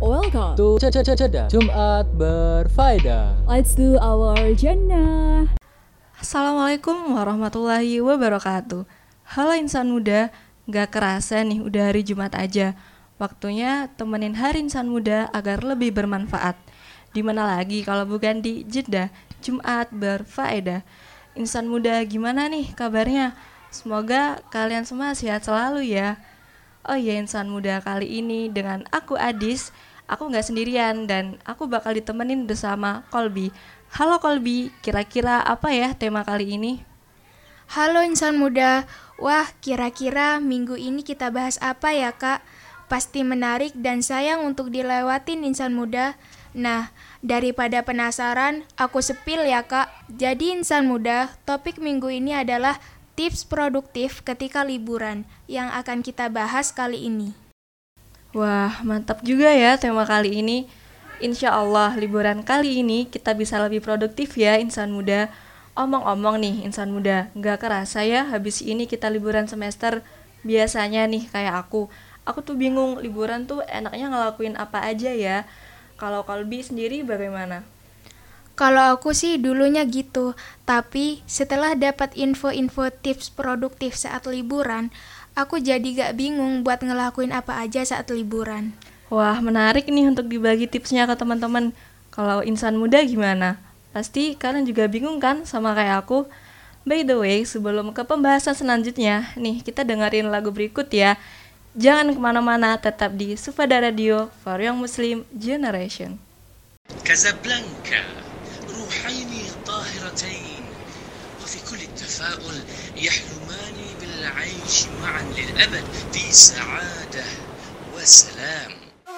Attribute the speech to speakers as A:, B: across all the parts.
A: welcome
B: to Ceda Jumat Berfaedah.
A: Let's do our jannah.
C: Assalamualaikum warahmatullahi wabarakatuh. Halo insan muda, gak kerasa nih udah hari Jumat aja. Waktunya temenin Hari Insan Muda agar lebih bermanfaat. Dimana lagi kalau bukan di Jeddah Jumat Berfaedah. Insan muda gimana nih kabarnya? Semoga kalian semua sehat selalu ya. Oh iya, insan muda kali ini dengan aku Adis. Aku gak sendirian dan aku bakal ditemenin bersama Kolbi. Halo Kolbi, kira-kira apa ya tema kali ini?
D: Halo insan muda, wah kira-kira minggu ini kita bahas apa ya kak? Pasti menarik dan sayang untuk dilewatin insan muda. Nah, daripada penasaran, aku sepil ya kak. Jadi insan muda, topik minggu ini adalah tips produktif ketika liburan yang akan kita bahas kali ini.
C: Wah, mantap juga ya tema kali ini. Insya Allah liburan kali ini kita bisa lebih produktif ya insan muda. Omong-omong nih insan muda, gak kerasa ya habis ini kita liburan semester. Biasanya nih kayak aku tuh bingung liburan tuh enaknya ngelakuin apa aja ya. Kalau Kolbi sendiri bagaimana?
D: Kalau aku sih dulunya gitu, tapi setelah dapat info-info tips produktif saat liburan, aku jadi gak bingung buat ngelakuin apa aja saat liburan.
C: Wah, menarik nih untuk dibagi tipsnya ke teman-teman. Kalau insan muda gimana? Pasti kalian juga bingung kan sama kayak aku? By the way, sebelum ke pembahasan selanjutnya, nih kita dengerin lagu berikut ya. Jangan kemana-mana, tetap di Sufada Radio for Young Muslim Generation.
E: كازابلانكا روحين طاهرتين وفي كل التفاؤل يحلمان بالعيش معا للأبد في سعادة وسلام.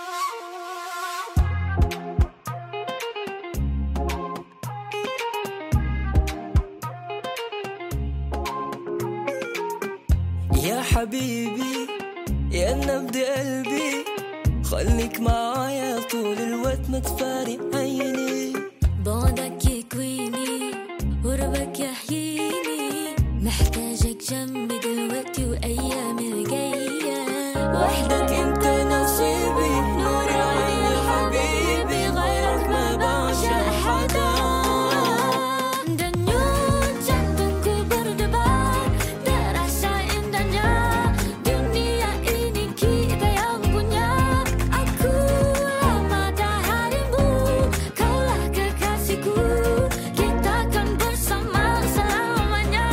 F: يا حبيبي يا نبض قلبي خليك معايا طول الوقت ما تفارق عيني
G: بعدك يكويني قربك يحييني محتاجك جنبي دلوقتي وأيام الجاية
F: وحدك انت نصيبي نور عيني حبيبي غيرك ما بعشق حدا
G: Denyut jantungku berdebar terasa indahnya dunia ini kita yang punya. Akulah mataharimu, kaulah kekasihku, kita kan bersama selamanya.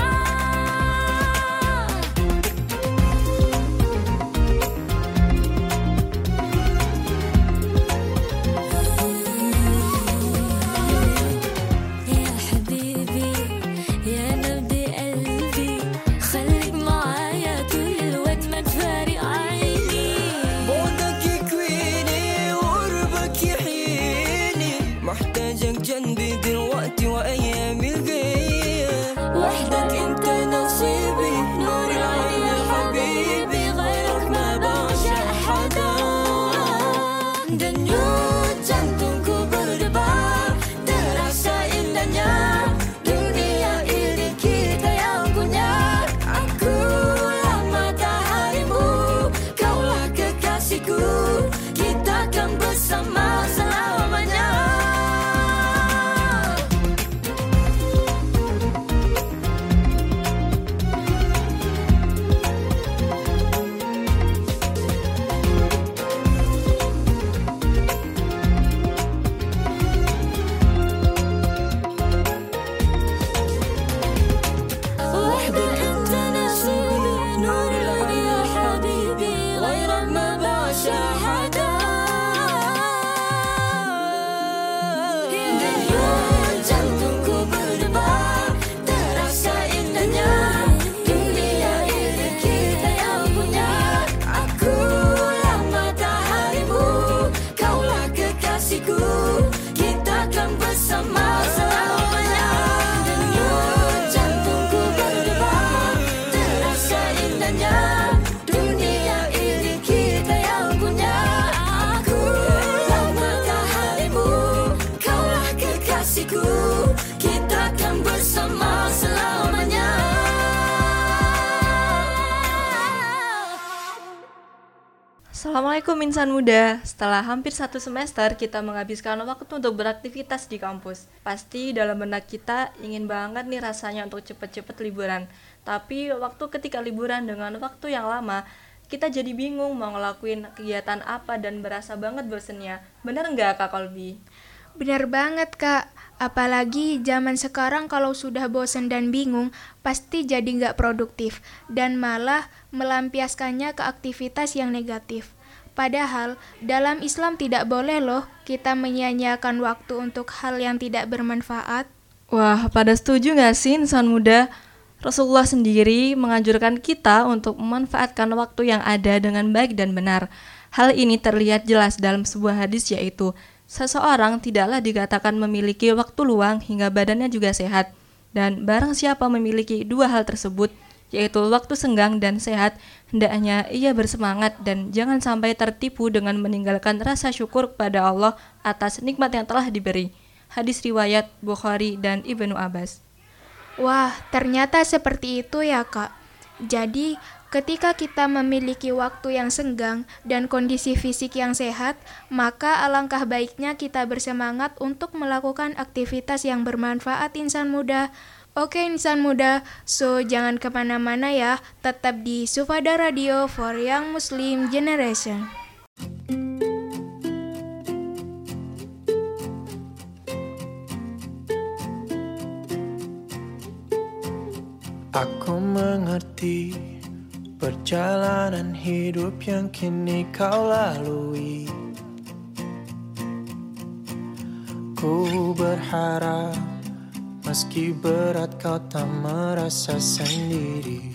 C: Assalamualaikum insan muda. Setelah hampir 1 semester kita menghabiskan waktu untuk beraktivitas di kampus. Pasti dalam benak kita ingin banget nih rasanya untuk cepet-cepet liburan. Tapi waktu ketika liburan dengan waktu yang lama, kita jadi bingung mau ngelakuin kegiatan apa dan berasa banget bosennya. Bener nggak Kak Kolbi?
D: Benar banget, Kak. Apalagi zaman sekarang kalau sudah bosan dan bingung, pasti jadi nggak produktif dan malah melampiaskannya ke aktivitas yang negatif. Padahal dalam Islam tidak boleh loh kita menyia-nyiakan waktu untuk hal yang tidak bermanfaat.
C: Wah, pada setuju nggak sih insan muda? Rasulullah sendiri menganjurkan kita untuk memanfaatkan waktu yang ada dengan baik dan benar. Hal ini terlihat jelas dalam sebuah hadis yaitu, seseorang tidaklah dikatakan memiliki waktu luang hingga badannya juga sehat. Dan barang siapa memiliki 2 hal tersebut, yaitu waktu senggang dan sehat, hendaknya ia bersemangat dan jangan sampai tertipu dengan meninggalkan rasa syukur kepada Allah atas nikmat yang telah diberi. Hadis riwayat Bukhari dan Ibnu Abbas.
D: Wah, ternyata seperti itu ya, Kak. Jadi, ketika kita memiliki waktu yang senggang dan kondisi fisik yang sehat, maka alangkah baiknya kita bersemangat untuk melakukan aktivitas yang bermanfaat insan muda. Oke insan muda, so jangan kemana-mana ya, tetap di Sufada Radio for Young Muslim Generation.
H: Aku mengerti perjalanan hidup yang kini kau lalui. Ku berharap meski berat kau tak merasa sendiri.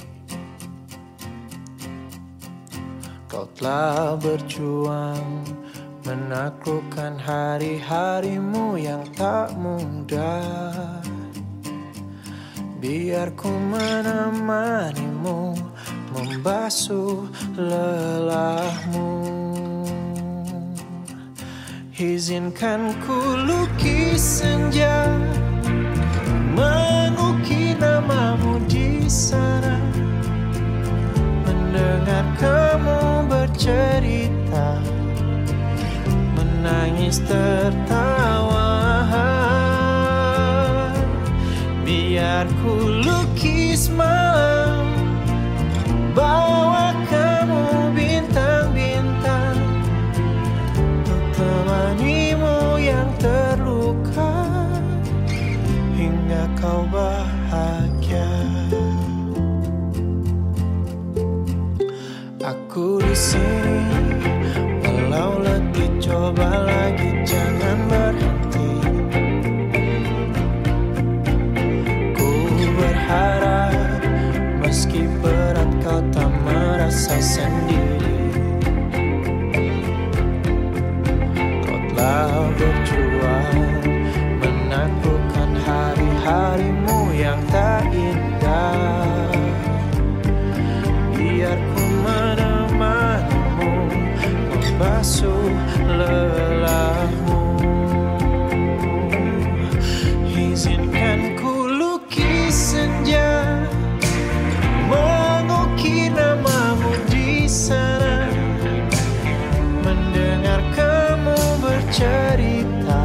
H: Kau telah berjuang menaklukkan hari-harimu yang tak mudah. Biar ku menemanimu, membasuh lelahmu. Izinkan ku lukis senja, mengukir namamu di sana. Mendengar kamu bercerita, menangis tertawa. Biar ku lukis malam, bawa kamu bintang-bintang, untuk temanimu yang terluka hingga kau bahagia. Aku di sini, walau letih coba lagi jangan berhenti. Berharap meski berat kau tak merasa sendiri. Kau telah berjuang menaklukkan hari-harimu yang tak indah. Biar ku menemanimu, membasuh lelahmu. Izinkan ku senja, mengukir namamu di sana. Mendengar kamu bercerita,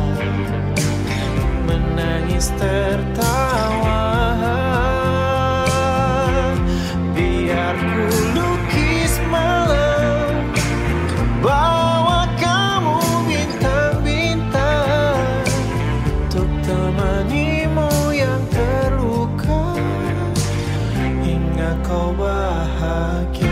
H: menangis tertawa. Biar ku lukis malam, bawa kamu bintang-bintang, untuk temanimu yang terluka hingga kau bahagia.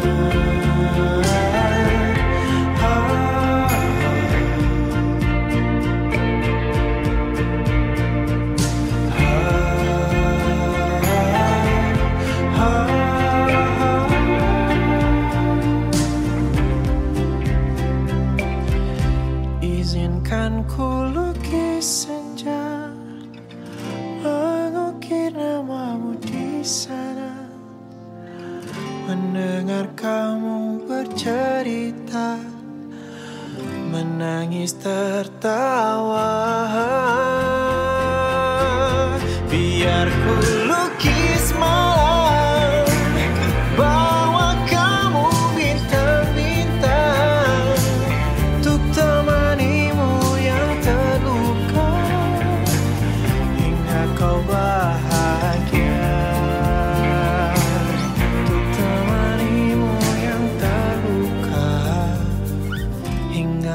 H: Izinkan ku lukis senja, mengukir namamu di sana. Mendengar kamu bercerita, menangis tertawa. Biar ku lukis malam, bawa kamu bintang-bintang,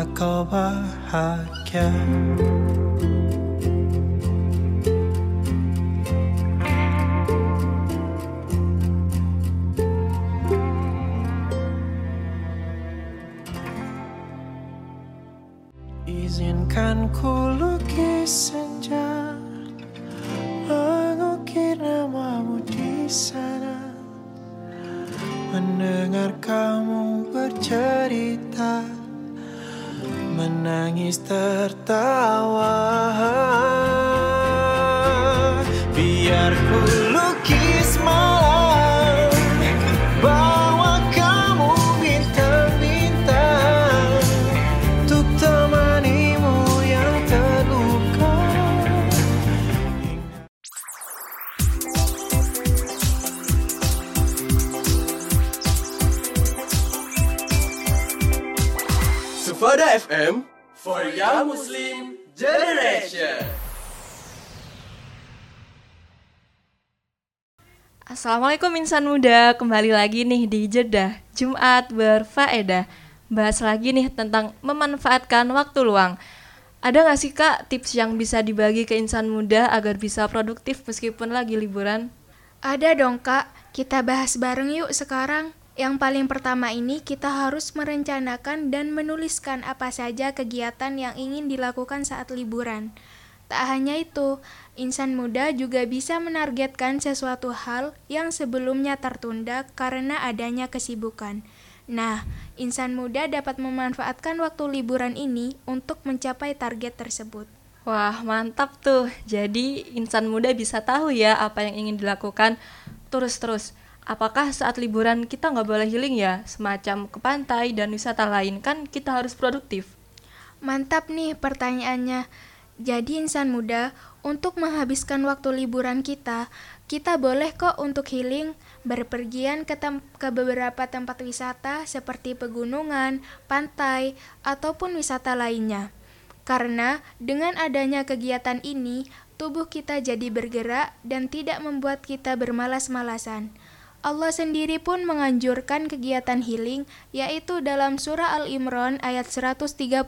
H: bila kau bahagia. Izinkan ku lukis senja, mengukir namamu di sana, mendengar kamu bercerita, menangis tertawa. Biar ku lukis malam, bawa kamu bintang-bintang, untuk temanimu yang terluka.
I: Sufada FM for Young Muslim Generation.
C: Assalamualaikum insan muda, kembali lagi nih di Jeddah Jumat Berfaedah. Bahas lagi nih tentang memanfaatkan waktu luang. Ada gak sih kak tips yang bisa dibagi ke insan muda agar bisa produktif meskipun lagi liburan?
D: Ada dong kak, kita bahas bareng yuk sekarang. Yang paling pertama ini kita harus merencanakan dan menuliskan apa saja kegiatan yang ingin dilakukan saat liburan. Tak hanya itu, insan muda juga bisa menargetkan sesuatu hal yang sebelumnya tertunda karena adanya kesibukan. Nah, insan muda dapat memanfaatkan waktu liburan ini untuk mencapai target tersebut.
C: Wah, mantap tuh. Jadi insan muda bisa tahu ya apa yang ingin dilakukan terus-terus. Apakah saat liburan kita nggak boleh healing ya? Semacam ke pantai dan wisata lain, kan kita harus produktif.
D: Mantap nih pertanyaannya. Jadi insan muda, untuk menghabiskan waktu liburan kita boleh kok untuk healing, berpergian ke beberapa tempat wisata seperti pegunungan, pantai, ataupun wisata lainnya. Karena dengan adanya kegiatan ini, tubuh kita jadi bergerak dan tidak membuat kita bermalas-malasan. Allah sendiri pun menganjurkan kegiatan healing, yaitu dalam surah Al-Imran ayat 137,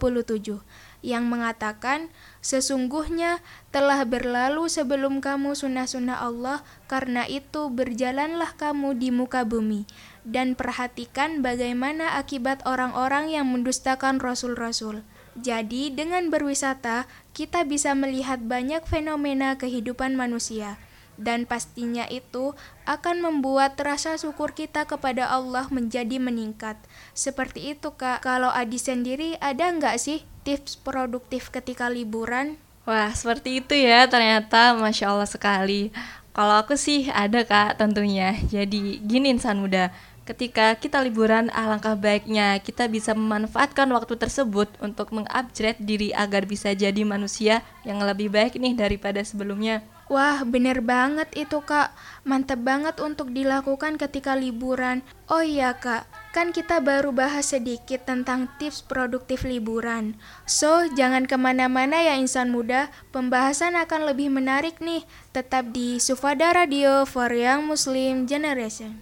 D: yang mengatakan, sesungguhnya telah berlalu sebelum kamu sunnah-sunnah Allah, karena itu berjalanlah kamu di muka bumi, dan perhatikan bagaimana akibat orang-orang yang mendustakan Rasul-Rasul. Jadi, dengan berwisata, kita bisa melihat banyak fenomena kehidupan manusia. Dan pastinya itu akan membuat rasa syukur kita kepada Allah menjadi meningkat. Seperti itu kak. Kalau Adi sendiri ada nggak sih tips produktif ketika liburan?
C: Wah, seperti itu ya ternyata, Masya Allah sekali. Kalau aku sih ada kak tentunya. Jadi gini insan muda, ketika kita liburan alangkah baiknya kita bisa memanfaatkan waktu tersebut untuk mengupgrade diri agar bisa jadi manusia yang lebih baik nih daripada sebelumnya.
D: Wah, bener banget itu kak. Mantep banget untuk dilakukan ketika liburan. Oh iya kak, kan kita baru bahas sedikit tentang tips produktif liburan. So, jangan kemana-mana ya insan muda. Pembahasan akan lebih menarik nih. Tetap di Sufada Radio for Young Muslim Generation.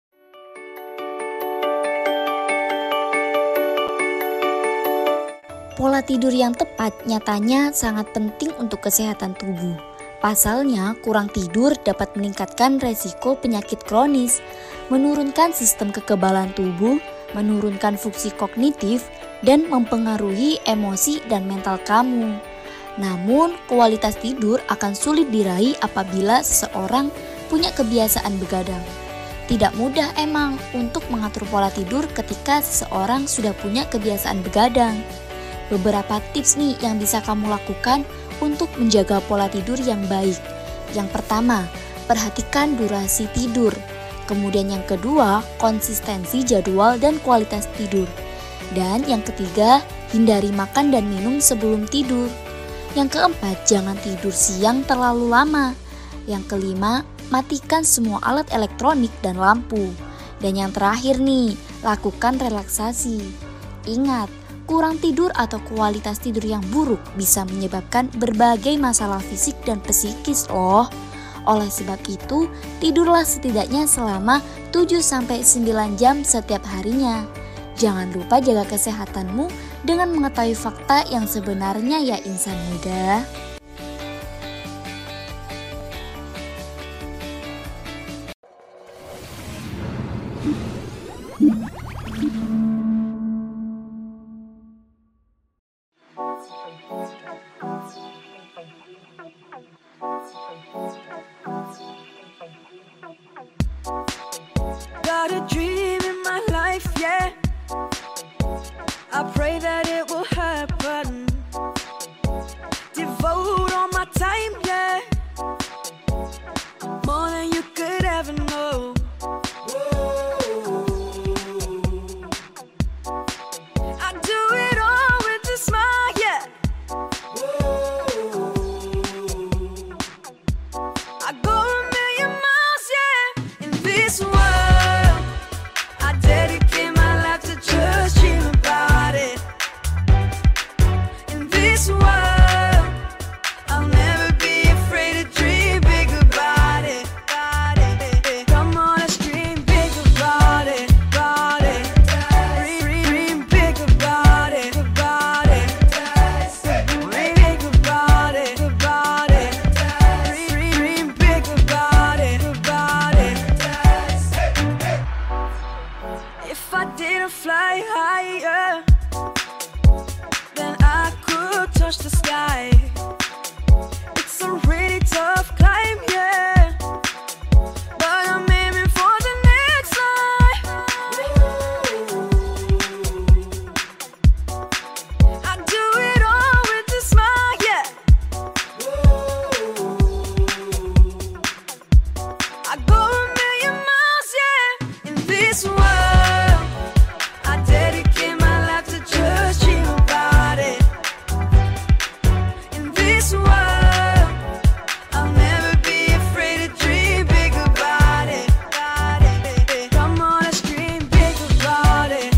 J: Pola tidur yang tepat nyatanya sangat penting untuk kesehatan tubuh. Pasalnya, kurang tidur dapat meningkatkan resiko penyakit kronis, menurunkan sistem kekebalan tubuh, menurunkan fungsi kognitif, dan mempengaruhi emosi dan mental kamu. Namun, kualitas tidur akan sulit diraih apabila seseorang punya kebiasaan begadang. Tidak mudah emang untuk mengatur pola tidur ketika seseorang sudah punya kebiasaan begadang. Beberapa tips nih yang bisa kamu lakukan untuk menjaga pola tidur yang baik. Yang pertama, perhatikan durasi tidur. Kemudian yang kedua, konsistensi jadwal dan kualitas tidur. Dan yang ketiga, hindari makan dan minum sebelum tidur. Yang keempat, jangan tidur siang terlalu lama. Yang kelima, matikan semua alat elektronik dan lampu. Dan yang terakhir nih, lakukan relaksasi. Ingat, kurang tidur atau kualitas tidur yang buruk bisa menyebabkan berbagai masalah fisik dan psikis loh. Oleh sebab itu, tidurlah setidaknya selama 7-9 jam setiap harinya. Jangan lupa jaga kesehatanmu dengan mengetahui fakta yang sebenarnya ya insan muda.
F: Got a dream in my life, yeah. I pray that it will happen. Devote all my time, yeah. More than you could ever know. I do it all with a smile, yeah. I go a million miles, yeah. In this world, I dedicate my life to just dream about it. In this world, I'll never be afraid to dream big about it. Come on, let's dream big about it. Dream big about it. Dream big about it. Dream big about it. If I didn't fly higher, then I could touch the sky. It's a really tough climb, yeah, but I'm aiming for the next line. I do it all with a smile, yeah. I go a million miles, yeah. In this world, I dedicate my life to just dream about it. In this world, I'll never be afraid to dream big about it. Come on, let's dream big about it.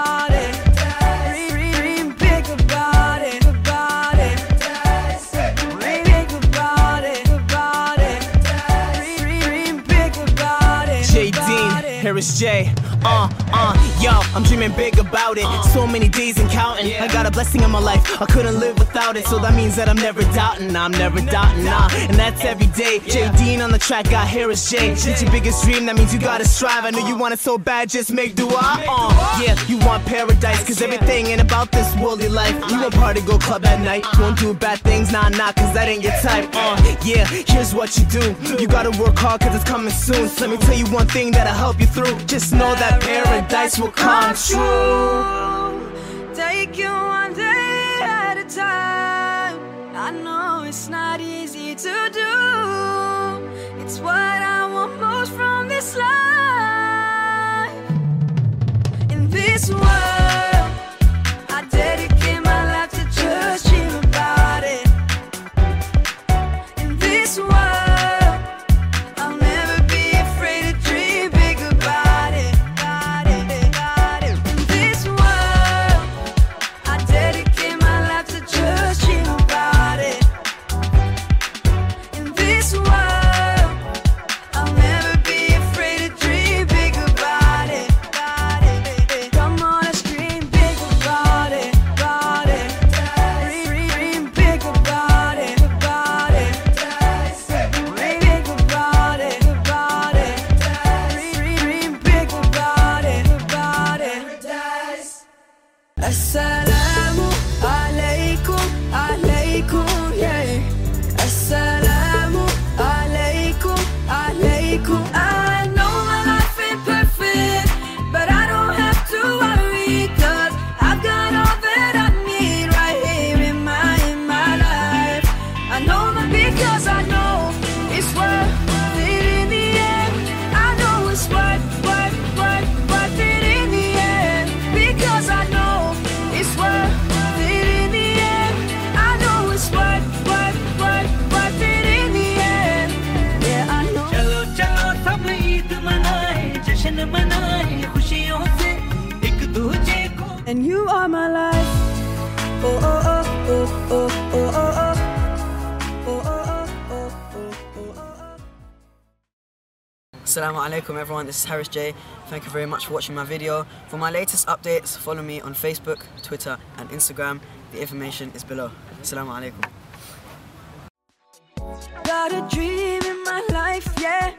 F: Dream big about it. Dream big about it. Dream big about it.
H: J. Dean, Harris J. Yo, I'm dreaming big about it. So many days and counting. I got a blessing in my life, I couldn't live without it. So that means that I'm never doubting, nah. And that's every day. J. Dean on the track, got Harris J. It's your biggest dream, that means you gotta strive. I know you want it so bad, just make dua. Yeah, you want paradise, cause everything ain't about this worldly life. You won't party, go club at night. Won't do bad things, nah, cause that ain't your type. Yeah, here's what you do. You gotta work hard, cause it's coming soon. So let me tell you one thing that'll help you through. Just know that paradise will come true.
F: Take you one day at a time. I know it's not easy to do. It's what I want most from this life. In this world, I dedicate my life to just dream about it. In this world, I'll never be afraid to dream big about it. In this world, I dedicate my life to just dream about it. In this world, I'll never be afraid to dream big about it. Come on, let's
K: Assalamualaikum everyone, this is Harris J. Thank you very much for watching my video. For my latest updates, follow me on Facebook, Twitter and Instagram. The information is below. Assalamualaikum.
F: Got a dream in my life, yeah.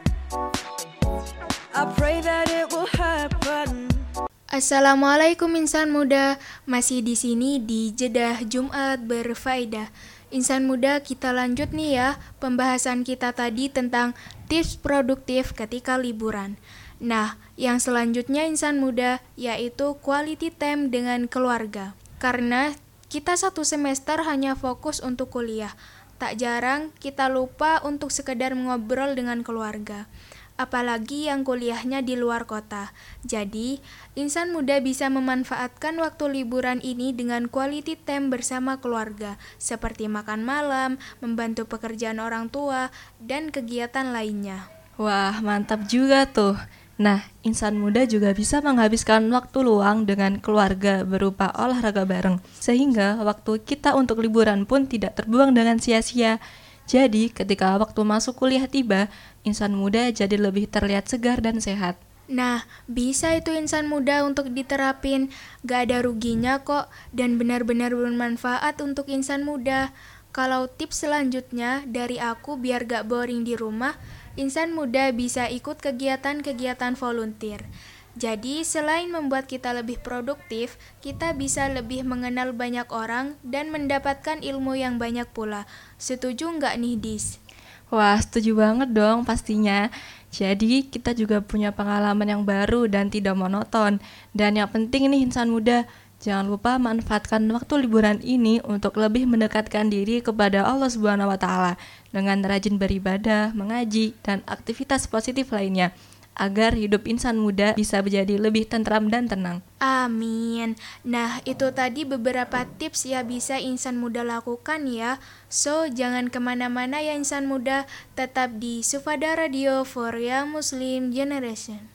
F: I pray that it will happen.
D: Assalamualaikum insan muda, masih di sini di Jeddah Jumat Berfaedah. Insan muda, kita lanjut nih ya pembahasan kita tadi tentang tips produktif ketika liburan. Nah, yang selanjutnya insan muda yaitu quality time dengan keluarga. Karena kita satu semester hanya fokus untuk kuliah, tak jarang kita lupa untuk sekedar ngobrol dengan keluarga. Apalagi yang kuliahnya di luar kota. Jadi, insan muda bisa memanfaatkan waktu liburan ini dengan quality time bersama keluarga, seperti makan malam, membantu pekerjaan orang tua, dan kegiatan lainnya.
C: Wah, mantap juga tuh. Nah, insan muda juga bisa menghabiskan waktu luang dengan keluarga berupa olahraga bareng, sehingga waktu kita untuk liburan pun tidak terbuang dengan sia-sia. Jadi, ketika waktu masuk kuliah tiba, insan muda jadi lebih terlihat segar dan sehat.
D: Nah, bisa itu insan muda untuk diterapin, gak ada ruginya kok, dan benar-benar bermanfaat untuk insan muda. Kalau tips selanjutnya dari aku biar gak boring di rumah, insan muda bisa ikut kegiatan-kegiatan volunteer. Jadi, selain membuat kita lebih produktif, kita bisa lebih mengenal banyak orang dan mendapatkan ilmu yang banyak pula. Setuju nggak nih, Dis?
C: Wah, setuju banget dong pastinya. Jadi, kita juga punya pengalaman yang baru dan tidak monoton. Dan yang penting nih insan muda, jangan lupa manfaatkan waktu liburan ini untuk lebih mendekatkan diri kepada Allah Subhanahu wa Ta'ala dengan rajin beribadah, mengaji, dan aktivitas positif lainnya, agar hidup insan muda bisa menjadi lebih tentram dan tenang.
D: Amin. Nah, itu tadi beberapa tips yang bisa insan muda lakukan ya. So, jangan kemana-mana ya insan muda, tetap di Sufada Radio for Young Muslim Generation.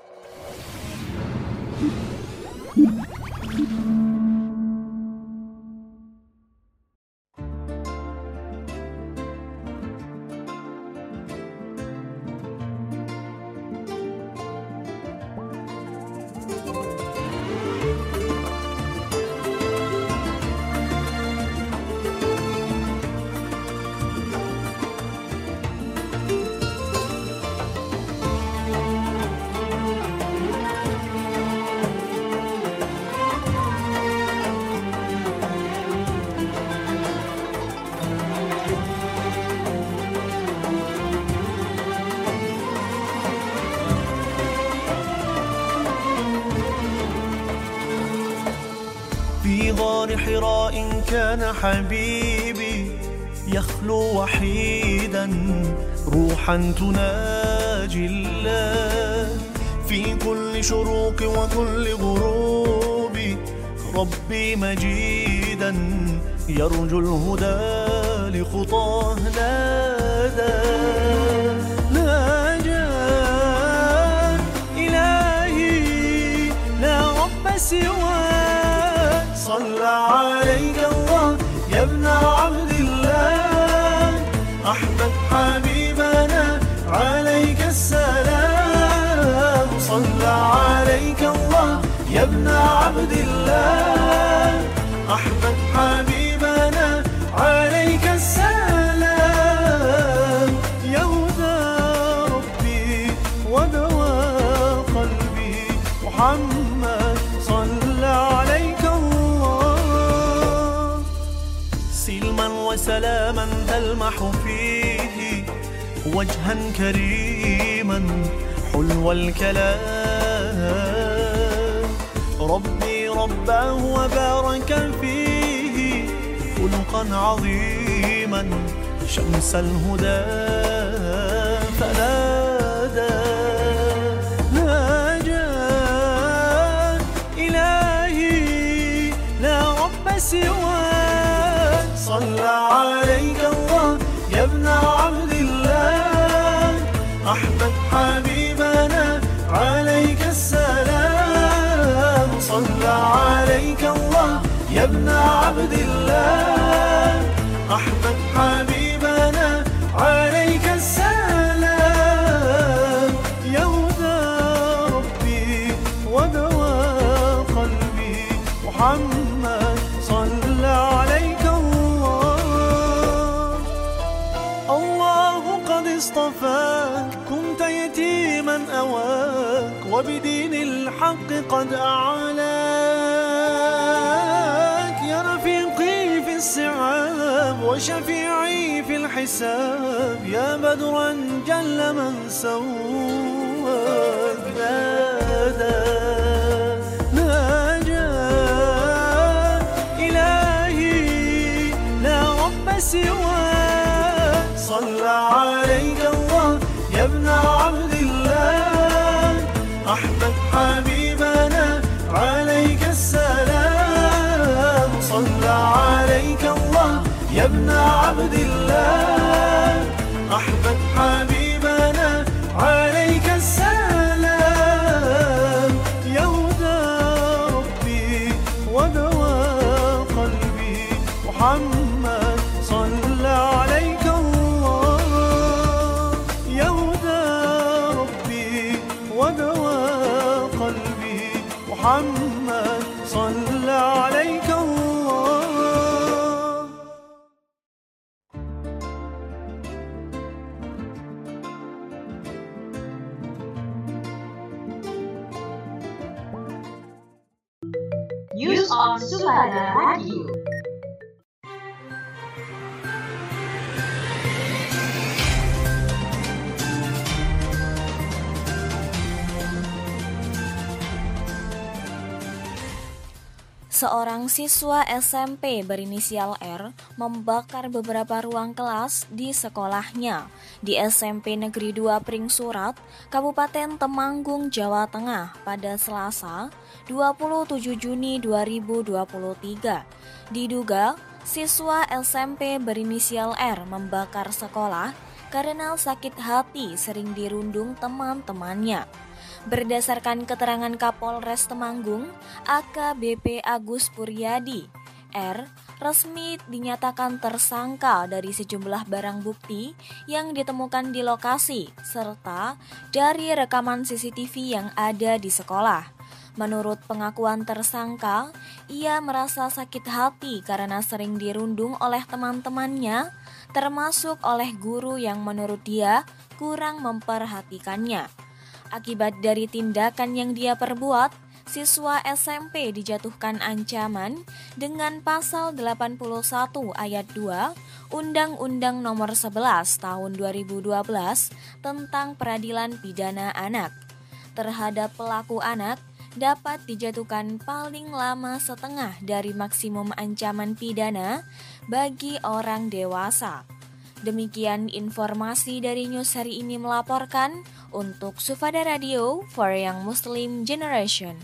L: في غار حراء كان حبيبي يخلو وحيدا روحا تناجي الله في كل شروق وكل غروب ربي مجيدا يرجو الهدى لخطاه نادى ناجاه إلهي لا رب سواك صلى عليك الله يا ابن عبد الله أحمد حبيبنا عليك السلام صلى عليك الله يا ابن عبد الله أحمد حبيبنا عليك السلام يا هدى ربي ودواء قلبي محمد صلى عليك الله سلما وسلاما تلمح فيه وجها كريما حلو الكلام ربي رباه وبارك فيه خلقا عظيما شمس الهدى فنادى ناجاه إلهي لا رب سواك صلى عليك الله يا ابن عبد الله أحمد حبيبنا عليك السلام صلى عليك الله يا ابن عبد الله أحمد حبيبنا عليك السلام صلى عليك الله. الله قد اصطفاك كنت يتيما أواك وبدين الحق قد أعلاك يا رفيقي في الصعاب وشفيعي في الحساب يا بدرا جل من سواك. ناجاك إلهي لا رب سواك. صلى عليك الله يا ابن عبد الله أحمد حبيبنا عليك السلام. صلى عليك الله يا ابن عبد الله أحمد حبيبنا عليك السلام. يا هدى ربي ودواء قلبي محمد صلى عليك الله. يا هدى ربي ودواء قلبي محمد صلى عليك الله.
M: News on Sufada Radio.
J: Seorang siswa SMP berinisial R membakar beberapa ruang kelas di sekolahnya di SMP Negeri 2 Pringsurat, Kabupaten Temanggung, Jawa Tengah pada Selasa 27 Juni 2023. Diduga siswa SMP berinisial R membakar sekolah karena sakit hati sering dirundung teman-temannya. Berdasarkan keterangan Kapolres Temanggung, AKBP Agus Puryadi, R resmi dinyatakan tersangka dari sejumlah barang bukti yang ditemukan di lokasi serta dari rekaman CCTV yang ada di sekolah. Menurut pengakuan tersangka, ia merasa sakit hati karena sering dirundung oleh teman-temannya, termasuk oleh guru yang menurut dia kurang memperhatikannya. Akibat dari tindakan yang dia perbuat, siswa SMP dijatuhkan ancaman dengan pasal 81 ayat 2 Undang-Undang Nomor 11 Tahun 2012 tentang Peradilan Pidana Anak. Terhadap pelaku anak dapat dijatuhkan paling lama setengah dari maksimum ancaman pidana bagi orang dewasa. Demikian informasi dari news hari ini melaporkan untuk Sufada Radio for Young Muslim Generation.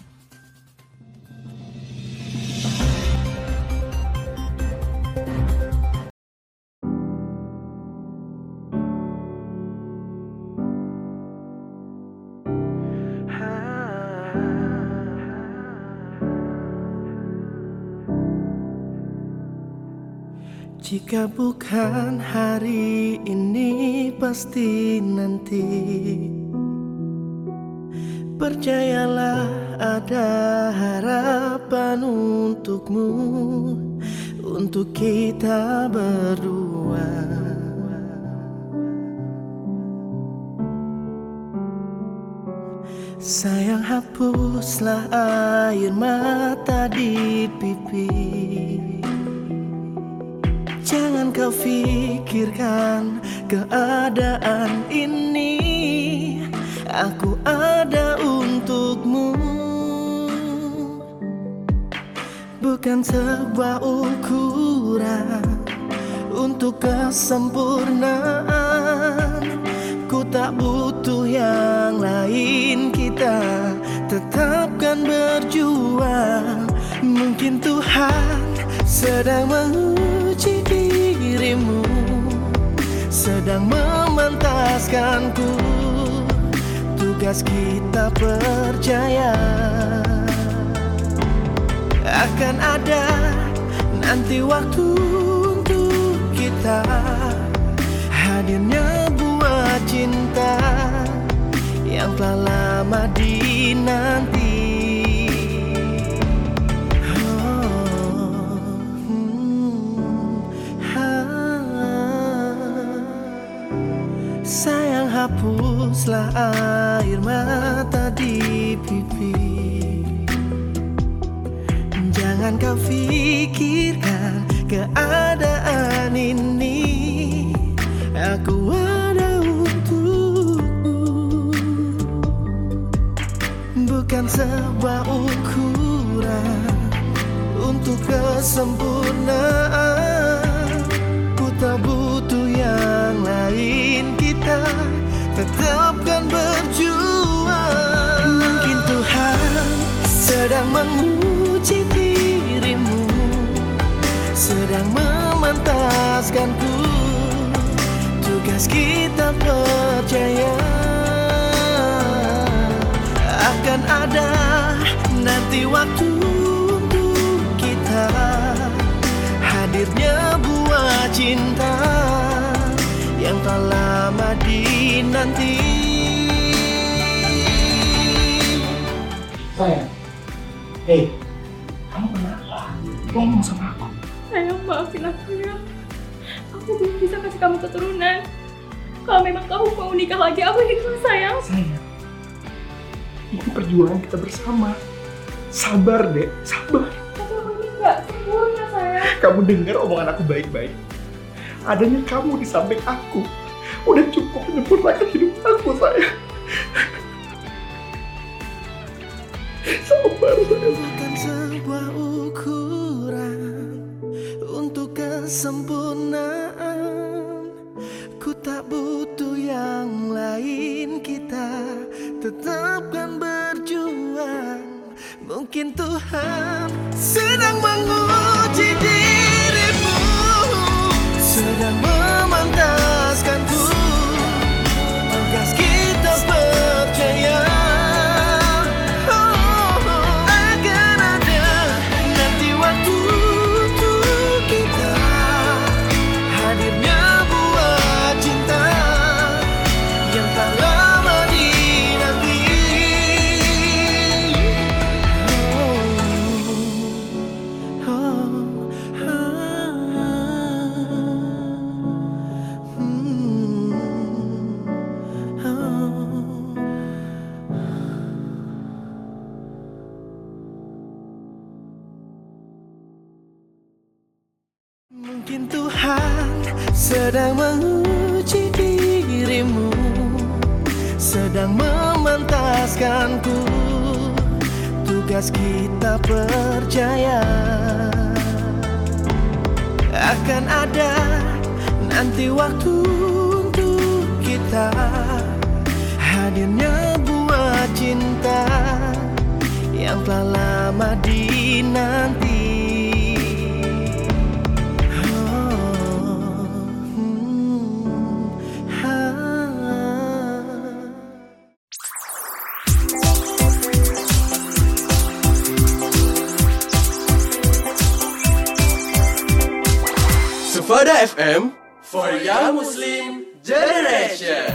L: Jika bukan hari ini pasti nanti. Percayalah ada harapan untukmu, untuk kita berdua. Sayang, hapuslah air mata di pipi. Jangan kau pikirkan keadaan ini. Aku ada untukmu. Bukan sebuah ukuran untuk kesempurnaan. Ku tak butuh yang lain, kita tetapkan berjuang. Mungkin Tuhan sedang menguji dirimu, sedang memantaskanku. Tugas kita percaya akan ada nanti waktu untuk kita hadirnya buah cinta yang telah lama dinanti. hapuslah air mata di pipi. Jangan kau pikirkan keadaan ini, aku ada untukmu. Bukan sebuah ukuran untuk kesempurnaan. Ku tak butuh yang lain, kita tetapkan berjuang. Mungkin Tuhan sedang menguji dirimu, sedang memantaskanku. Tugas kita percaya akan ada nanti waktu untuk kita hadirnya buah cinta yang tak lama dinanti.
N: Sayang, kamu kenapa? Ngomong sama aku.
O: Sayang, maafin aku ya. Aku belum bisa kasih kamu keturunan. Kalau memang kamu mau nikah lagi, aku ikhlas sayang.
N: Sayang, ini perjuangan kita bersama. Sabar deh, sabar.
O: Tapi aku ini gak sempurna sayang.
N: Kamu dengar omongan aku baik-baik. Adanya kamu di samping aku udah cukup menyempurnakan hidup aku, sayang. Sabar, sayang.
L: Bukan sebuah ukuran untuk kesempurnaan. Ku tak butuh yang lain, kita tetapkan berjuang. Mungkin Tuhan sedang menguji dirimu, sedang memantaskanku. Tugas kita percaya akan ada nanti waktu untuk kita hadirnya buah cinta yang tak lama dinanti. Mungkin Tuhan sedang menguji dirimu, sedang memantaskanku. Tugas kita percaya akan ada nanti waktu untuk kita hadirnya buah cinta yang telah lama dinanti.
I: Sufada FM for Young Muslim Generation.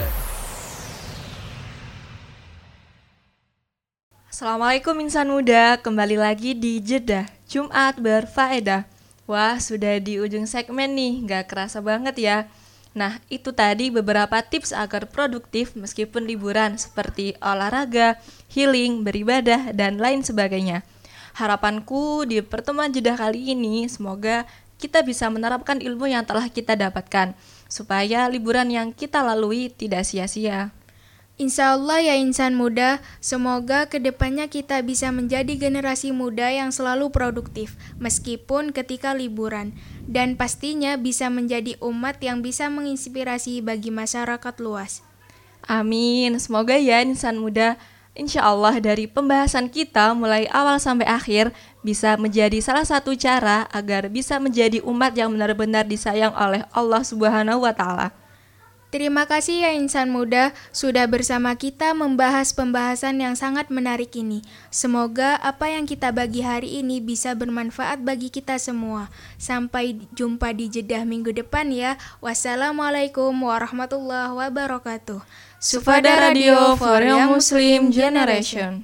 C: Assalamualaikum insan muda, kembali lagi di Jeddah Jumat Berfaedah. Wah, sudah di ujung segmen nih, gak kerasa banget ya. Nah, itu tadi beberapa tips agar produktif meskipun liburan, seperti olahraga, healing, beribadah, dan lain sebagainya. Harapanku di pertemuan Jeddah kali ini, semoga kita bisa menerapkan ilmu yang telah kita dapatkan, supaya liburan yang kita lalui tidak sia-sia.
D: Insya Allah ya insan muda, semoga kedepannya kita bisa menjadi generasi muda yang selalu produktif, meskipun ketika liburan. Dan pastinya bisa menjadi umat yang bisa menginspirasi bagi masyarakat luas.
C: Amin, semoga ya insan muda. Insya Allah dari pembahasan kita mulai awal sampai akhir bisa menjadi salah satu cara agar bisa menjadi umat yang benar-benar disayang oleh Allah Subhanahu wa Ta'ala.
D: Terima kasih ya insan muda sudah bersama kita membahas pembahasan yang sangat menarik ini. Semoga apa yang kita bagi hari ini bisa bermanfaat bagi kita semua. Sampai jumpa di Jeddah minggu depan ya. Wassalamualaikum warahmatullahi wabarakatuh.
C: Sufada Radio for Young Muslim Generation.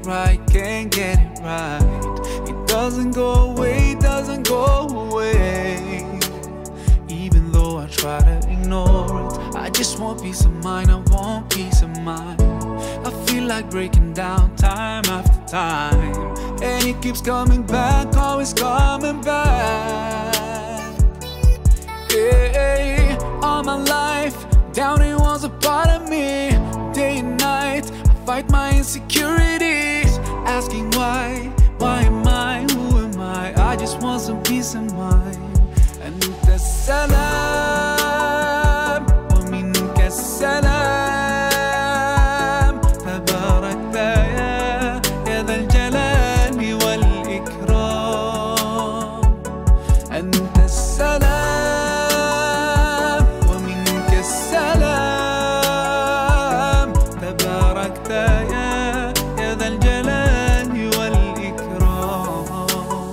L: right, can't get it right. It doesn't go away, doesn't go away. Even though I try to ignore it, I just want peace of mind, I want peace of mind. I feel like breaking down time after time, and it keeps coming back, always coming back. Hey, all my life, doubting was a part of me. Day and night, I fight my insecurities, asking why am I, who am I just want some peace of mind. And the salam, wa minka salam, tabarakta ya dhal jalali wal ikram. And the salam, wa minka salam, tabarakta ya dhal jalali wal ikram.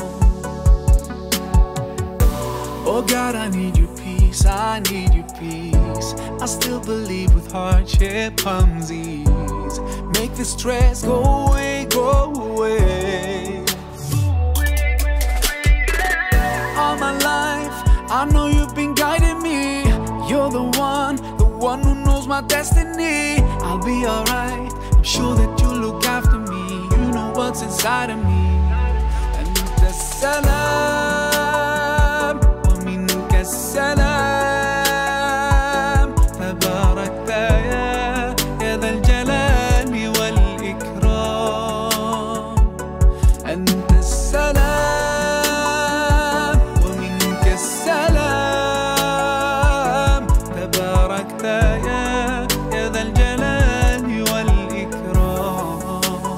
L: Oh God, I need your peace, I need your peace. I still believe with hardship comes ease. Make the stress go away, go away. All my life, I know you've been guiding me. You're the one who knows my destiny. I'll be alright, I'm sure that you'll look after me. You know what's inside of me. And the salam, wa minka salam, tabarakta ya dhal jalali wal ikram. And the salam, wa minka salam, tabarakta ya dhal jalali wal ikram.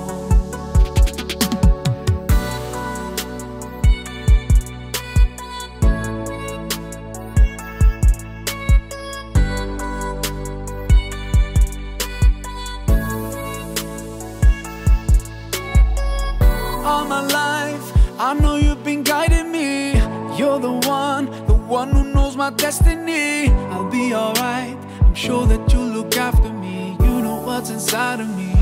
L: All my life, I know you've been guiding me. You're the one who knows my destiny. I'll be alright, I'm sure that you'll look after me. You know what's inside of me.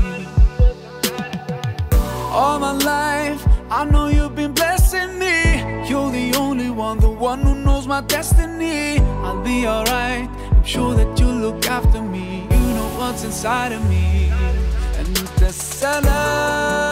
L: All my life, I know you've been blessing me. You're the only one who knows my destiny. I'll be alright, I'm sure that you'll look after me. You know what's inside of me. And the salam,